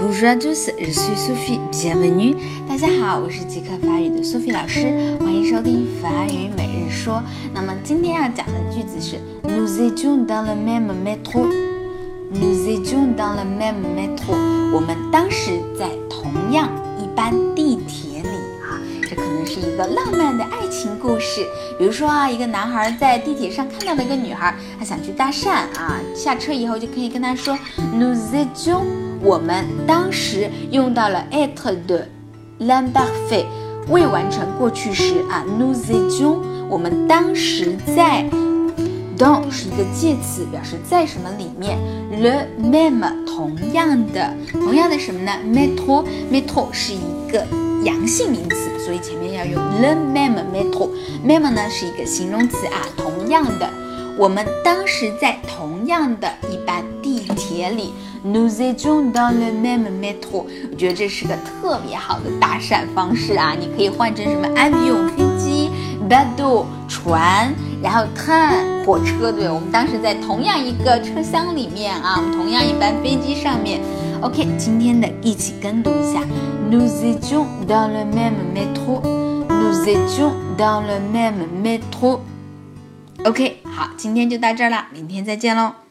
Bonjour à tous, je suis Sophie, bienvenue. 大家好，我是即刻法语的 Sophie 老师，欢迎收听法语每日说。那么今天要讲的句子是 Nous étions dans le même métro. Nous étions dans le même métro. 我们当时在同样一班地铁里啊，这可能是一个浪漫的爱情故事。比如说啊，一个男孩在地铁上看到了一个女孩，他想去搭讪啊，下车以后就可以跟她说 Nous étions.我们当时用到了 être de l'imparfait 未完成过去时啊 nous étions 我们当时在 dans 是一个介词，表示在什么里面 le même 同样的什么呢 métro 是一个阳性名词，所以前面要用 le même métro même 呢是一个形容词啊，同样的，我们当时在同样的一班地铁里Nous étions dans le même métro. 我觉得这是个特别好的搭讪方式啊！你可以换成什么 avion 飞机 bateau 船，然后 train 火车，对，我们当时在同样一个车厢里面啊，我们同样一班飞机上面。OK， 今天的一起跟读一下 Nous étions dans le même métro. Nous étions dans le même métro. OK， 好，今天就到这儿了，明天再见喽。